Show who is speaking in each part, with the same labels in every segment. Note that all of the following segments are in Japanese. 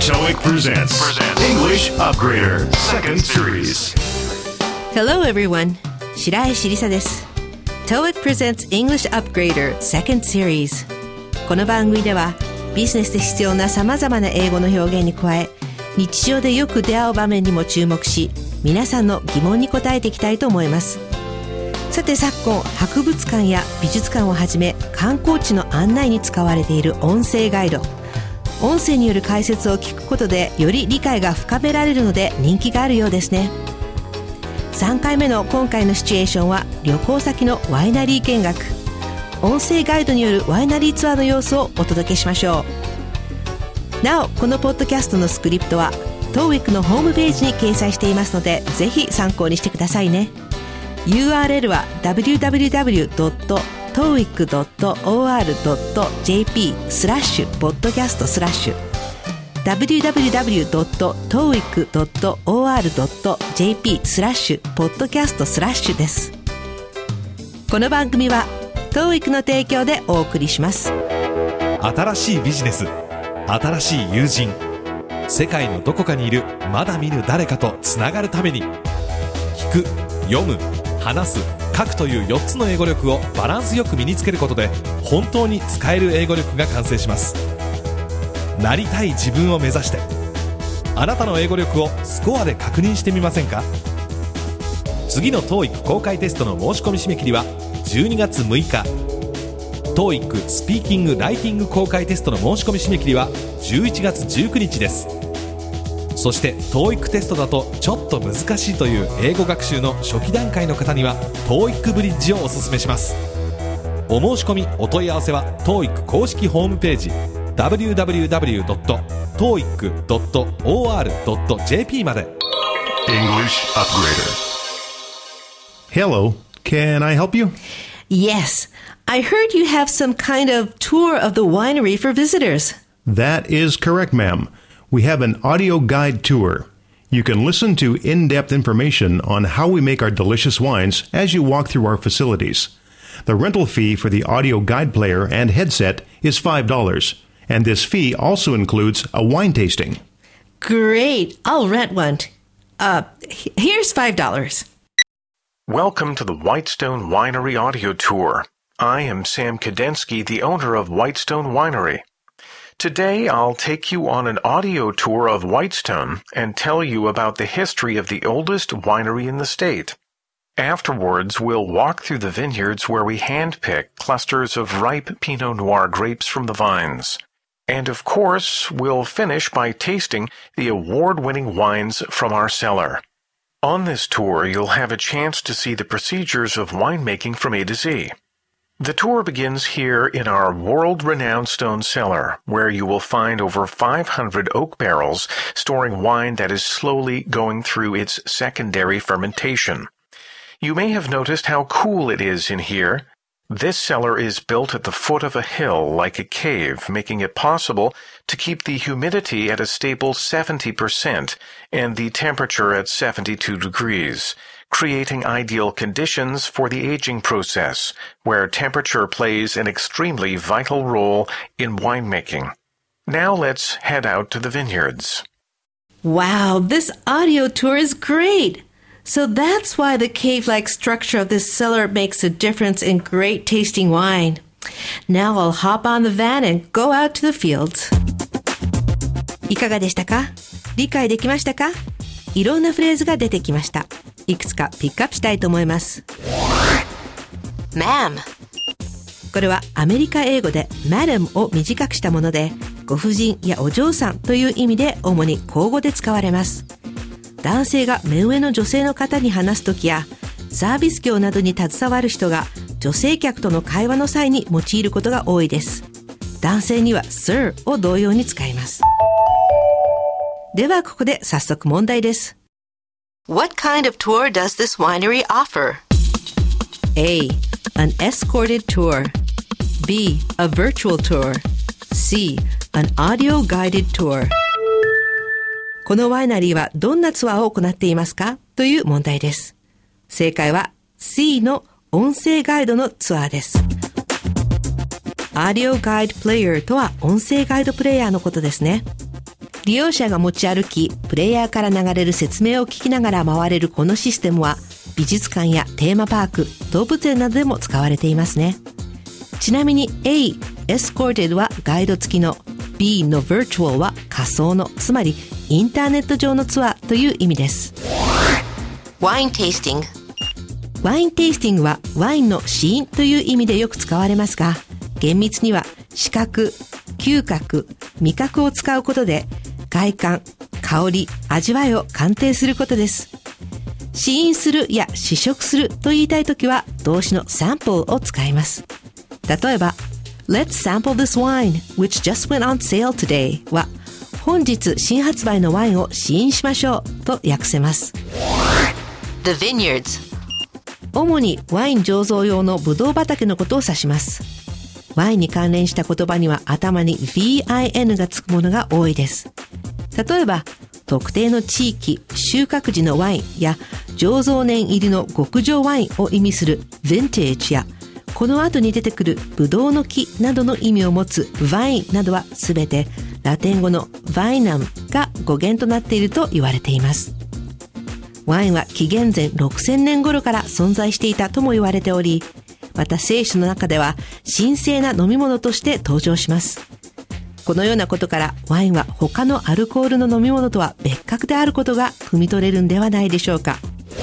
Speaker 1: TOEIC presents English Upgrader Second Series.
Speaker 2: Hello everyone. 白石りさです。TOEIC presents English Upgrader Second Series. この番組ではビジネスで必要な様々な英語の表現に加え、日常でよく出会う場面にも注目し、皆さんの疑問に答えていきたいと思います。さて昨今、博物館や美術館をはじめ観光地の案内に使われている音声ガイド。音声による解説を聞くことでより理解が深められるので人気があるようですね。3回目の今回のシチュエーションは旅行先のワイナリー見学。音声ガイドによるワイナリーツアーの様子をお届けしましょう。なお、このポッドキャストのスクリプトは TOEIC のホームページに掲載していますので、ぜひ参考にしてくださいね。 URL は www.toeic.or.jp/podcast/ www.toeic.or.jp/podcast/ です。この番組は TOEIC の提供でお送りします。
Speaker 3: 新しいビジネス、新しい友人、世界のどこかにいるまだ見ぬ誰かとつながるために、聞く、読む、話す、書くという4つの英語力をバランスよく身につけることで本当に使える英語力が完成します。なりたい自分を目指して、あなたの英語力をスコアで確認してみませんか？次の TOEIC 公開テストの申し込み締め切りは12月6日。 TOEIC スピーキング・ライティング公開テストの申し込み締め切りは11月19日です。そして TOEIC テストだとちょっと難しいという英語学習の初期段階の方には TOEIC ブリッジをおすすめします。お申し込みお問い合わせは TOEIC 公式ホームページ www.toeic.or.jp まで。
Speaker 1: English Upgrader. Hello, can I help you?
Speaker 2: Yes, I heard you have some kind of tour of the winery for visitors.
Speaker 1: That is correct, ma'am. We have an audio guide tour. You can listen to in-depth information on how we make our delicious wines as you walk through our facilities. The rental fee for the audio guide player and headset is $5, and this fee also includes a wine tasting.
Speaker 2: Great, I'll rent one. Here's $5.
Speaker 4: Welcome to the Whitestone Winery Audio Tour. I am Sam Kadensky, the owner of Whitestone Winery.Today, I'll take you on an audio tour of Whitestone and tell you about the history of the oldest winery in the state. Afterwards, we'll walk through the vineyards where we handpick clusters of ripe Pinot Noir grapes from the vines. And of course, we'll finish by tasting the award-winning wines from our cellar. On this tour, you'll have a chance to see the procedures of winemaking from A to Z.The tour begins here in our world-renowned stone cellar, where you will find over 500 oak barrels storing wine that is slowly going through its secondary fermentation. You may have noticed how cool it is in here. This cellar is built at the foot of a hill like a cave, making it possible to keep the humidity at a stable 70% and the temperature at 72 degrees.Creating ideal conditions for the aging process, where temperature plays an extremely vital role in winemaking. Now let's head out to the vineyards.
Speaker 2: Wow, this audio tour is great! So that's why the cave-like structure of this cellar makes a difference in great tasting wine. Now I'll hop on the van and go out to the fields. いかがでしたか？理解できましたか？いろんなフレーズが出てきました。いくつかピックアップしたいと思います。Ma'am。これはアメリカ英語で Madam を短くしたもので、ご婦人やお嬢さんという意味で主に口語で使われます。男性が目上の女性の方に話すときや、サービス業などに携わる人が女性客との会話の際に用いることが多いです。男性には Sir を同様に使います。ではここで早速問題です。What kind of tour does this winery offer? A. An escorted tour. B. A virtual tour. C. An audio guided tour. このワイナリーはどんなツアーを行っていますか？という問題です。正解は C の音声ガイドのツアーです。Audio Guide Player とは音声ガイドプレイヤーのことですね。 利用者が持ち歩き、プレイヤーから流れる説明を聞きながら回れるこのシステムは、美術館やテーマパーク、動物園などでも使われていますね。ちなみに A、Escorted はガイド付きの、B の Virtual は仮想の、つまりインターネット上のツアーという意味です。
Speaker 5: Wine tasting。
Speaker 2: ワインテイスティングはワインの試飲という意味でよく使われますが、厳密には視覚、嗅覚、味覚を使うことで外観、香り、味わいを鑑定することです。試飲するや試食すると言いたいときは動詞の sample を使います。例えば Let's sample this wine which just went on sale today は本日新発売のワインを試飲しましょうと訳せます。
Speaker 5: The vineyards。
Speaker 2: 主にワイン醸造用のブドウ畑のことを指します。ワインに関連した言葉には頭に VIN がつくものが多いです。例えば、特定の地域、収穫時のワインや醸造年入りの極上ワインを意味する Vintage や、この後に出てくるブドウの木などの意味を持つ Vine などはすべてラテン語の Vinum が語源となっていると言われています。ワインは紀元前6000年頃から存在していたとも言われており、また聖書の中では神聖な飲み物として登場します。このようなことからワインは他のアルコールの飲み物とは別格であることが汲み取れるんではないでしょうか。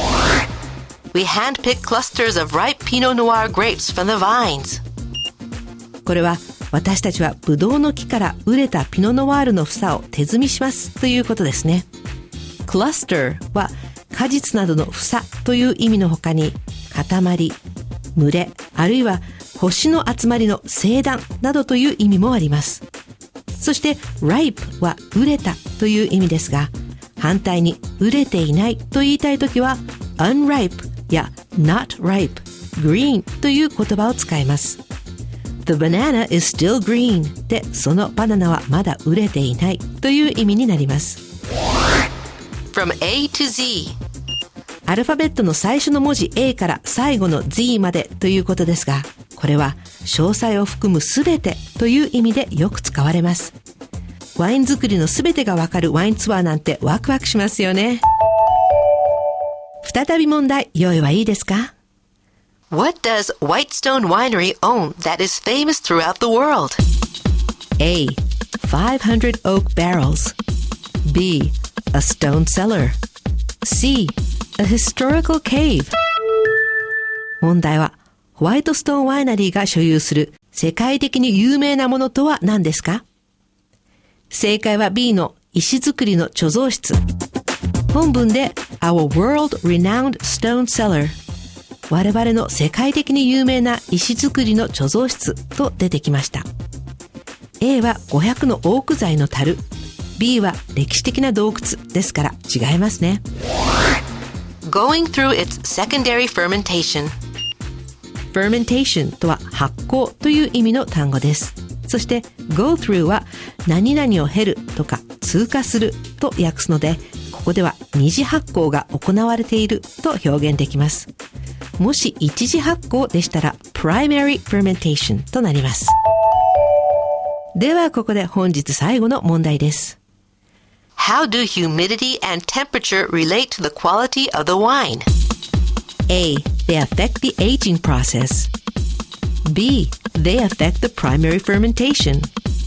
Speaker 5: We handpick clusters of ripe Pinot Noir grapes from the vines.
Speaker 2: これは私たちはブドウの木から熟れたピノノワールの房を手摘みしますということですね。クラスターは果実などの房という意味の他に塊、群れ、あるいは星の集まりの星団などという意味もあります。そして ripe は熟れたという意味ですが、反対に熟れていないと言いたいときは unripe や not ripe、green という言葉を使います。The banana is still green で、そのバナナはまだ熟れていないという意味になります。
Speaker 5: From A to Z。
Speaker 2: アルファベットの最初の文字 A から最後の Z までということですが、これは詳細を含むすべてという意味でよく使われます。ワイン作りのすべてがわかるワインツアーなんてワクワクしますよね。再び問題、用意はいいですか？
Speaker 5: What does Whitestone Winery own that is famous throughout the world?
Speaker 2: A. 500 oak barrels. B. A stone cellar. C. A historical cave. 問題は、ホワイトストーンワイナリーが所有する世界的に有名なものとは何ですか？正解は B の石造りの貯蔵室。本文で Our world renowned stone cellar、 我々の世界的に有名な石造りの貯蔵室と出てきました。 A は500のオーク材の樽、 B は歴史的な洞窟ですから違いますね。
Speaker 5: Going through its secondary fermentation。
Speaker 2: fermentation とは発酵という意味の単語です。そして go through は何々を経るとか通過すると訳すので、ここでは二次発酵が行われていると表現できます。もし一次発酵でしたら primary fermentation となります。ではここで本日最後の問題です。
Speaker 5: How do humidity and temperature relate to the quality of the wine?
Speaker 2: A. They affect the aging process. B. They affect the primary fermentation.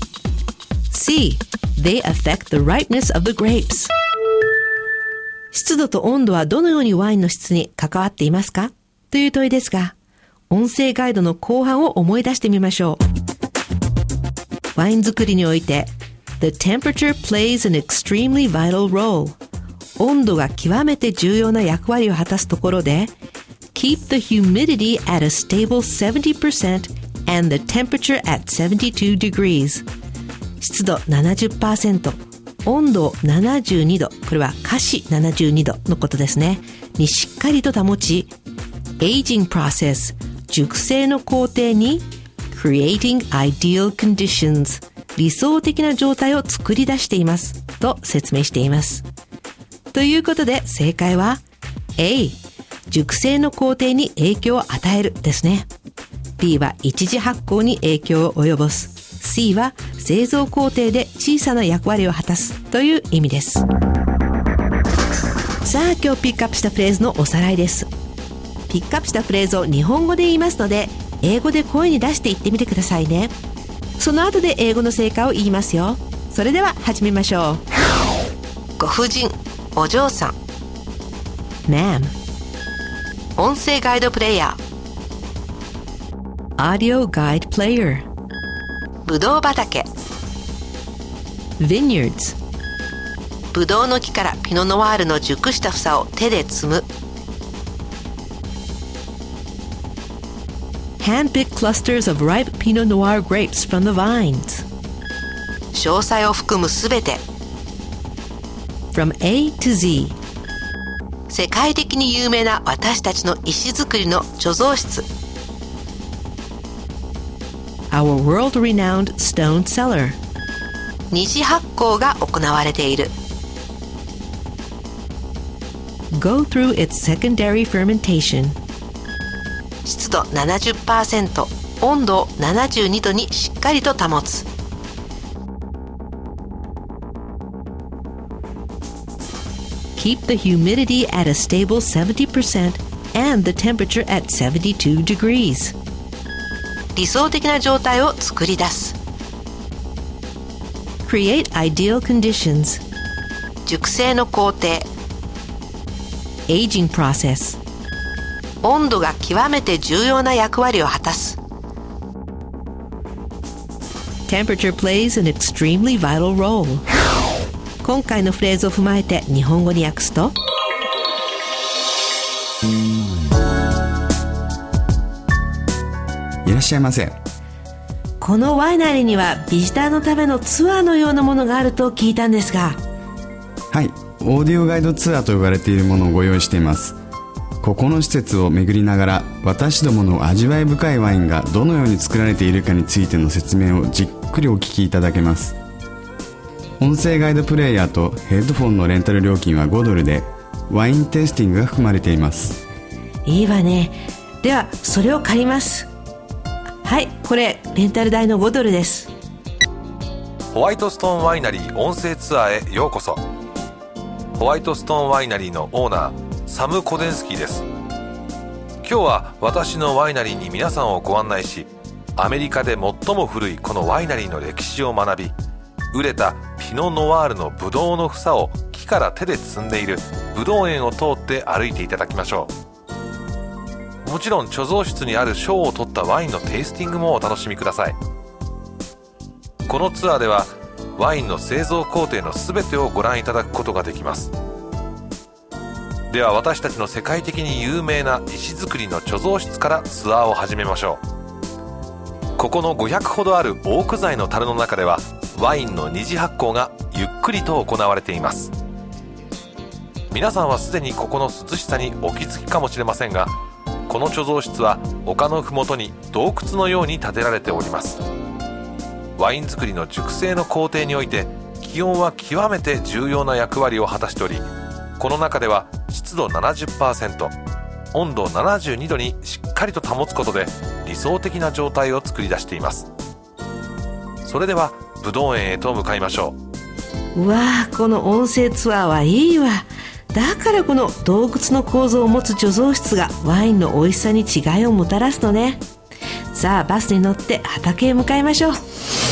Speaker 2: C. They affect the ripeness of the grapes. 湿度と温度はどのようにワインの質に関わっていますかという問いですが、音声ガイドの後半を思い出してみましょう。ワイン作りにおいて、The temperature plays an extremely vital role. 温度が極めて重要な役割を果たすところで、Keep the humidity at a stable 70% and the temperature at 72 degrees. 湿度 70%、温度72度、これは華氏72度のことですね。にしっかりと保ち、Aging process、熟成の工程に、Creating ideal conditions、理想的な状態を作り出していますと説明しています。ということで正解は A、熟成の工程に影響を与えるですね。B は一次発酵に影響を及ぼす。 C は製造工程で小さな役割を果たすという意味です。さあ、今日ピックアップしたフレーズのおさらいです。ピックアップしたフレーズを日本語で言いますので、英語で声に出して言ってみてくださいね。その後で英語の成果を言いますよ。それでは始めましょう。
Speaker 5: ご婦人、お嬢さん。
Speaker 2: Ma'am。
Speaker 5: 音声ガイドプレイヤー。
Speaker 2: Audio Guide Player。
Speaker 5: ぶどう畑。
Speaker 2: Vineyards。
Speaker 5: ぶどうの木からピノノワールの熟した房を手で摘む。
Speaker 2: Hand-pick clusters of ripe Pinot Noir grapes from the vines。
Speaker 5: 詳細を含むすべて。
Speaker 2: From A to Z。
Speaker 5: 世界的に有名な私たちの石造りの貯蔵室。
Speaker 2: Our world-renowned stone cellar。
Speaker 5: 二次発酵が行われている。
Speaker 2: Go through its secondary fermentation。
Speaker 5: 湿度 70%、 温度を72度にしっかりと保つ。
Speaker 2: Keep the humidity at a stable 70% and the temperature at 72 degrees。
Speaker 5: 理想的な状態を作り出す。
Speaker 2: Create ideal conditions。
Speaker 5: 熟成の工程。
Speaker 2: Aging process。
Speaker 5: 温度が極めて重要な役割を果たす。
Speaker 2: Temperature plays an extremely vital role。 今回のフレーズを踏まえて日本語に訳すと、
Speaker 6: いらっしゃいませ。
Speaker 2: このワイナリーにはビジターのためのツアーのようなものがあると聞いたんですが。
Speaker 6: はい、オーディオガイドツアーと呼ばれているものをご用意しています。ここの施設を巡りながら、私どもの味わい深いワインがどのように作られているかについての説明をじっくりお聞きいただけます。音声ガイドプレイヤーとヘッドフォンのレンタル料金は$5で、ワインテイスティングが含まれています。
Speaker 2: いいわね。ではそれを借ります。はい、これレンタル代の$5です。
Speaker 3: ホワイトストーンワイナリー音声ツアーへようこそ。ホワイトストーンワイナリーのオーナーサム・コデンスキーです。今日は私のワイナリーに皆さんをご案内し、アメリカで最も古いこのワイナリーの歴史を学び、熟れたピノ・ノワールのブドウの房を木から手で摘んでいるブドウ園を通って歩いていただきましょう。もちろん貯蔵室にある賞を取ったワインのテイスティングもお楽しみください。このツアーではワインの製造工程のすべてをご覧いただくことができます。では私たちの世界的に有名な石造りの貯蔵室からツアーを始めましょう。ここの500ほどあるオーク材の樽の中では、ワインの二次発酵がゆっくりと行われています。皆さんはすでにここの涼しさにお気づきかもしれませんが、この貯蔵室は丘のふもとに洞窟のように建てられております。ワイン作りの熟成の工程において、気温は極めて重要な役割を果たしており、この中では湿度 70%、 温度72度にしっかりと保つことで理想的な状態を作り出しています。それではぶどう園へと向かいましょ
Speaker 2: うわあ、この音声ツアーはいいわ。だからこの洞窟の構造を持つ貯蔵室がワインの美味しさに違いをもたらすのね。さあ、バスに乗って畑へ向かいましょう。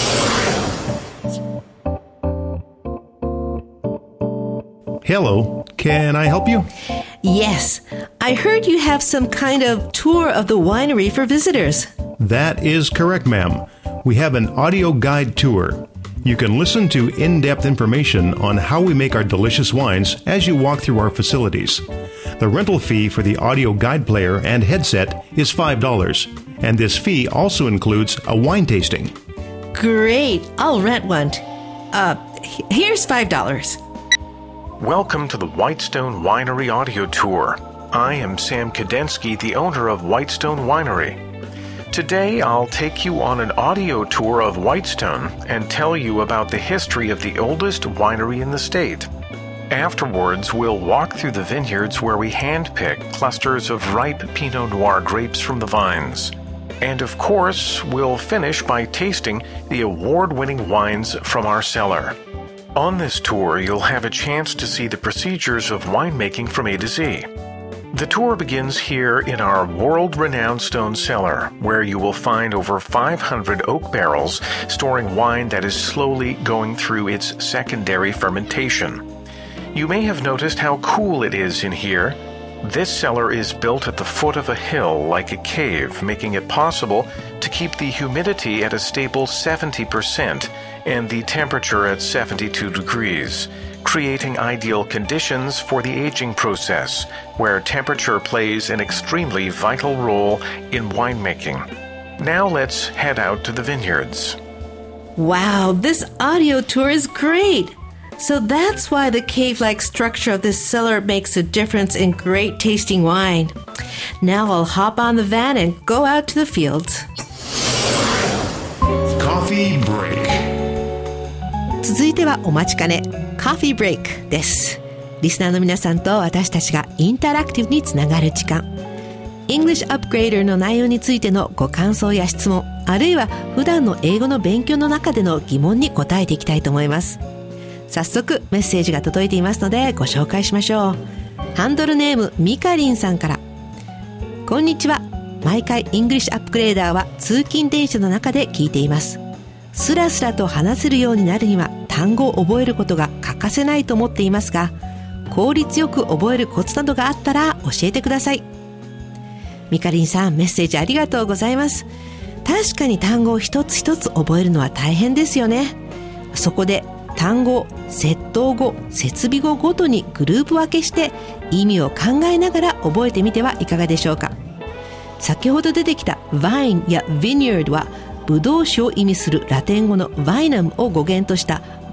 Speaker 1: Hello, can I help you?
Speaker 2: Yes, I heard you have some kind of tour of the winery for visitors.
Speaker 1: That is correct, ma'am. We have an audio guide tour. You can listen to in-depth information on how we make our delicious wines as you walk through our facilities. The rental fee for the audio guide player and headset is $5, and this fee also includes a wine tasting.
Speaker 2: Great, I'll rent one. Here's $5.
Speaker 4: Welcome to the Whitestone Winery audio tour. I am Sam Kadensky, the owner of Whitestone Winery. Today I'll take you on an audio tour of Whitestone and tell you about the history of the oldest winery in the state. Afterwards, we'll walk through the vineyards where we handpick clusters of ripe Pinot Noir grapes from the vines. And of course, we'll finish by tasting the award-winning wines from our cellar. On this tour, you'll have a chance to see the procedures of winemaking from A to Z. The tour begins here in our world-renowned stone cellar, where you will find over 500 oak barrels storing wine that is slowly going through its secondary fermentation. You may have noticed how cool it is in here. This cellar is built at the foot of a hill like a cave, making it possible to keep the humidity at a stable 70% and the temperature at 72 degrees, creating ideal conditions for the aging process, where temperature plays an extremely vital role in winemaking. Now let's head out to the vineyards.
Speaker 2: Wow, this audio tour is great! So that's why the cave-like structure of this cellar makes a difference in great tasting wine. Now I'll hop on the van and go out to the fields.
Speaker 1: Coffee break.
Speaker 2: 続いてはお待ちかね、コーヒーブレイクです。リスナーの皆さんと私たちがインタラクティブにつながる時間。English Upgrader の内容についてのご感想や質問、あるいは普段の英語の勉強の中での疑問に答えていきたいと思います。早速メッセージが届いていますのでご紹介しましょう。ハンドルネームミカリンさんから。こんにちは。毎回 English Upgrader は通勤電車の中で聞いています。スラスラと話せるようになるには単語を覚えることが欠かせないと思っていますが、効率よく覚えるコツなどがあったら教えてください。ミカリンさん、メッセージありがとうございます。確かに単語を一つ一つ覚えるのは大変ですよね。そこで単語、接頭語、設備語ごとにグループ分けして意味を考えながら覚えてみてはいかがでしょうか。先ほど出てきた vine や vineyard はブドウ酒を意味するラテン語の vinum を語源とした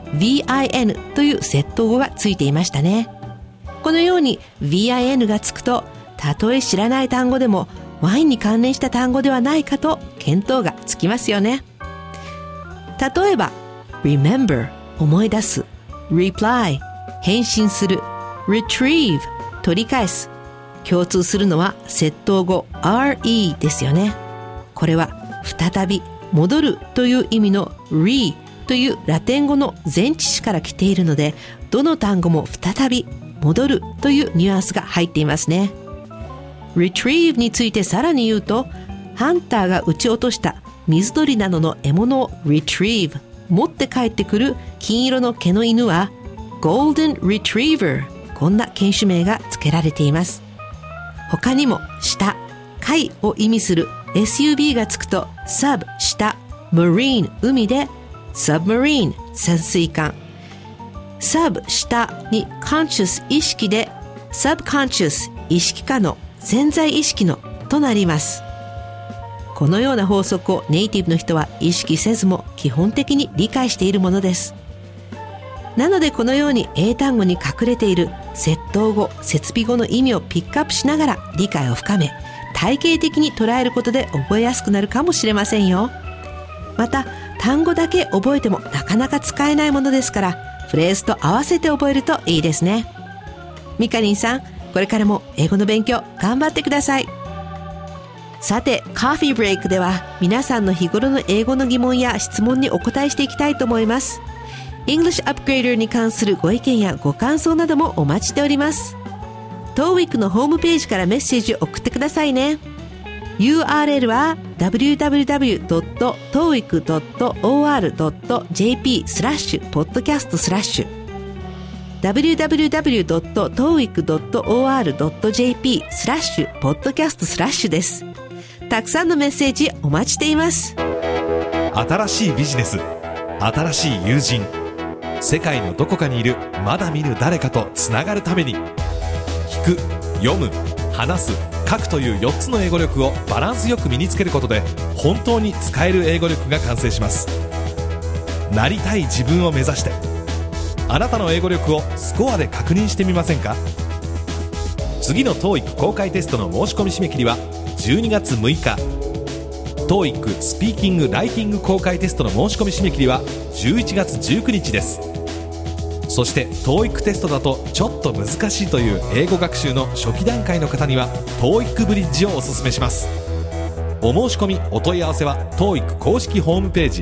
Speaker 2: vin という接頭語がついていましたね。このように vin がつくと、たとえ知らない単語でもワインに関連した単語ではないかと見当がつきますよね。例えば remember 思い出す、reply 返信する、retrieve 取り返す。共通するのは接頭語 re ですよね。これは再び、戻るという意味の re というラテン語の前置詞から来ているので、どの単語も再び、戻るというニュアンスが入っていますね。retrieve についてさらに言うと、ハンターが撃ち落とした水鳥などの獲物を retrieve、持って帰ってくる金色の毛の犬は golden retriever、 こんな犬種名が付けられています。他にも下、海を意味する SUB がつくと sub 下、marine 海で submarine 潜水艦、sub 下に conscious 意識で subconscious 意識下の潜在意識のとなります。このような法則をネイティブの人は意識せずも基本的に理解しているものです。なのでこのように英単語に隠れている接頭語、設備語の意味をピックアップしながら理解を深め、体系的に捉えることで覚えやすくなるかもしれませんよ。また単語だけ覚えてもなかなか使えないものですから、フレーズと合わせて覚えるといいですね。ミカリンさん、これからも英語の勉強頑張ってください。さて、コーヒーブレイクでは皆さんの日頃の英語の疑問や質問にお答えしていきたいと思います。English Upgrader に関するご意見やご感想などもお待ちしております。TOEIC のホームページからメッセージを送ってくださいね。URL は www.toeic.or.jp/podcast/ www.toeic.or.jp/podcast/ です。たくさんのメッセージお待ちしています。
Speaker 3: 新しいビジネス、新しい友人、世界のどこかにいるまだ見ぬ誰かとつながるために、聞く、読む、話す、書くという4つの英語力をバランスよく身につけることで、本当に使える英語力が完成します。なりたい自分を目指して、あなたの英語力をスコアで確認してみませんか？次の TOEIC 公開テストの申し込み締め切りは12月6日。TOEIC スピーキング・ライティング公開テストの申し込み締め切りは11月19日です。そして TOEIC テストだとちょっと難しいという英語学習の初期段階の方には TOEIC ブリッジをおすすめします。 お申し込みお問い合わせは TOEIC 公式ホームページ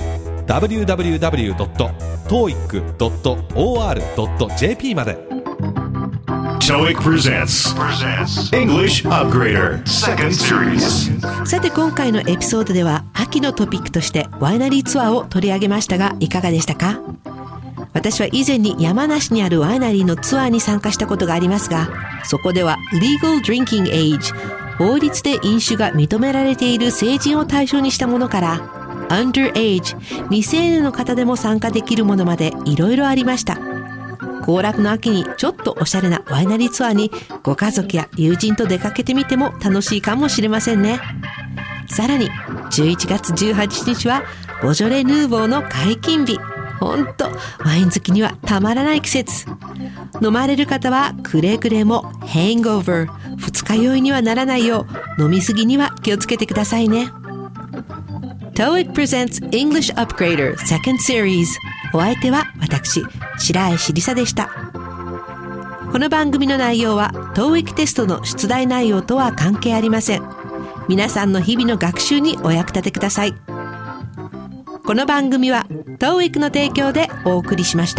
Speaker 3: www.toeic.or.jp まで。
Speaker 1: TOEIC presents English Upgrader Second Series。
Speaker 2: さて今回のエピソードでは秋のトピックとしてワイナリーツアーを取り上げましたがいかがでしたか？私は以前に山梨にあるワイナリーのツアーに参加したことがありますが、そこでは Legal Drinking Age、 法律で飲酒が認められている成人を対象にしたものから Underage、 未成年の方でも参加できるものまでいろいろありました。行楽の秋にちょっとおしゃれなワイナリーツアーにご家族や友人と出かけてみても楽しいかもしれませんね。さらに11月18日はボジョレ・ヌーボーの解禁日。ほんとワイン好きにはたまらない季節。飲まれる方はくれぐれもハングオーバー、二日酔いにはならないよう飲みすぎには気をつけてくださいね。 TOEIC presents English Upgrader Second Series。 お相手は私白石りさでした。この番組の内容は TOEIC テストの出題内容とは関係ありません。皆さんの日々の学習にお役立てください。この番組は TOEIC の提供でお送りしました。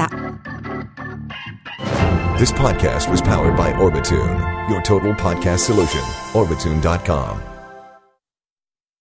Speaker 7: This podcast was powered by Orbitune, your total podcast solution. Orbitune.com